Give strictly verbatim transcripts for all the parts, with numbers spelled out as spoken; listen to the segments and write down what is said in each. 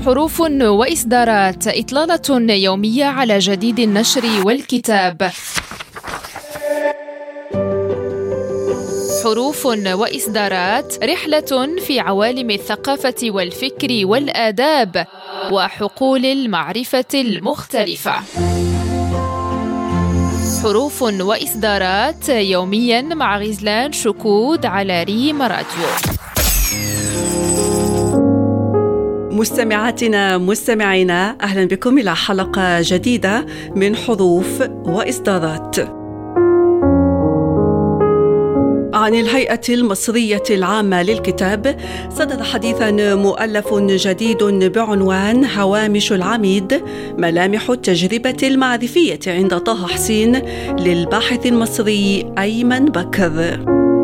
حروف وإصدارات، إطلالة يومية على جديد النشر والكتاب. حروف وإصدارات، رحلة في عوالم الثقافة والفكر والآداب وحقول المعرفة المختلفة. حروف وإصدارات يومياً مع غزلان شكود على ريم راديو. مستمعاتنا مستمعينا، أهلا بكم إلى حلقة جديدة من حروف وإصدارات. عن الهيئة المصرية العامة للكتاب صدر حديثاً مؤلف جديد بعنوان هوامش العميد، ملامح التجربة المعرفية عند طه حسين للباحث المصري أيمن بكر.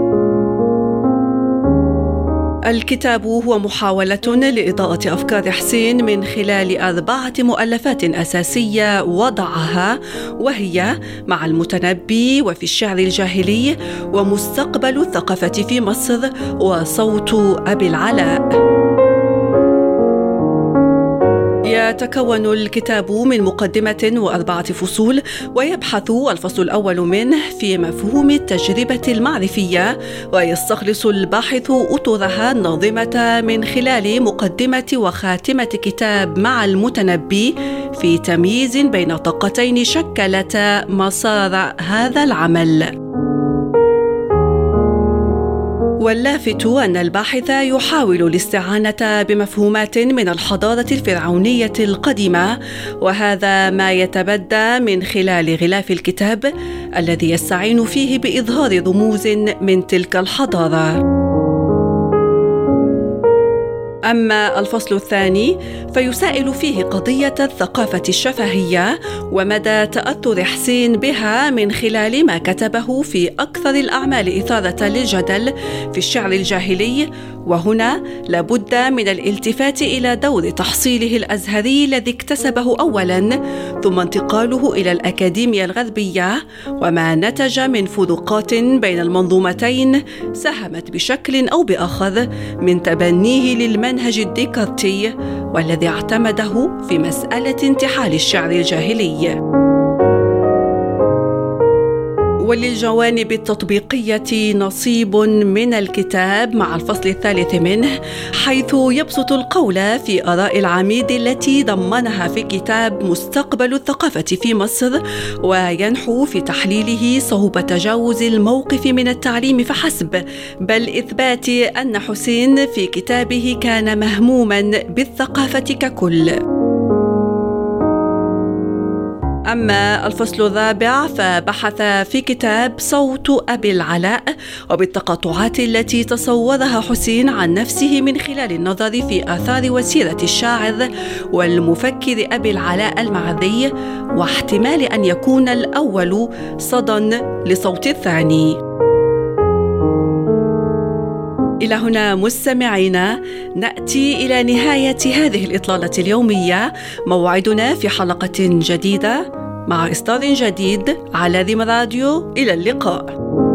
الكتاب هو محاولة لإضاءة أفكار حسين من خلال أربعة مؤلفات أساسية وضعها، وهي مع المتنبي، وفي الشعر الجاهلي، ومستقبل الثقافة في مصر، وصوت أبي العلاء. يتكون الكتاب من مقدمة وأربعة فصول، ويبحث الفصل الأول منه في مفهوم التجربة المعرفية، ويستخلص الباحث أطرها الناظمة من خلال مقدمة وخاتمة كتاب مع المتنبي في تمييز بين طاقتين شكلتا مسار هذا العمل. واللافت أن الباحث يحاول الاستعانة بمفهومات من الحضارة الفرعونية القديمة، وهذا ما يتبدى من خلال غلاف الكتاب الذي يستعين فيه بإظهار رموز من تلك الحضارة. أما الفصل الثاني فيسائل فيه قضية الثقافة الشفهية ومدى تأثر حسين بها من خلال ما كتبه في أكثر الأعمال إثارة للجدل في الشعر الجاهلي، وهنا لابد من الالتفات إلى دور تحصيله الأزهري الذي اكتسبه أولاً، ثم انتقاله إلى الأكاديمية الغربية، وما نتج من فروقات بين المنظومتين ساهمت بشكل أو بآخر من تبنيه للمنهج الديكارتي، والذي اعتمده في مسألة انتحال الشعر الجاهلي. وللجوانب التطبيقية نصيب من الكتاب مع الفصل الثالث منه، حيث يبسط القول في آراء العميد التي ضمنها في كتاب مستقبل الثقافة في مصر، وينحو في تحليله صعوبة تجاوز الموقف من التعليم فحسب، بل إثبات أن حسين في كتابه كان مهموما بالثقافة ككل. أما الفصل الرابع فبحث في كتاب صوت أبي العلاء وبالتقاطعات التي تصورها حسين عن نفسه من خلال النظر في آثار وسيرة الشاعر والمفكر أبي العلاء المعري، واحتمال أن يكون الأول صدى لصوت الثاني. إلى هنا مستمعينا نأتي إلى نهاية هذه الإطلالة اليومية، موعدنا في حلقة جديدة مع إصدار جديد على ريم راديو. إلى اللقاء.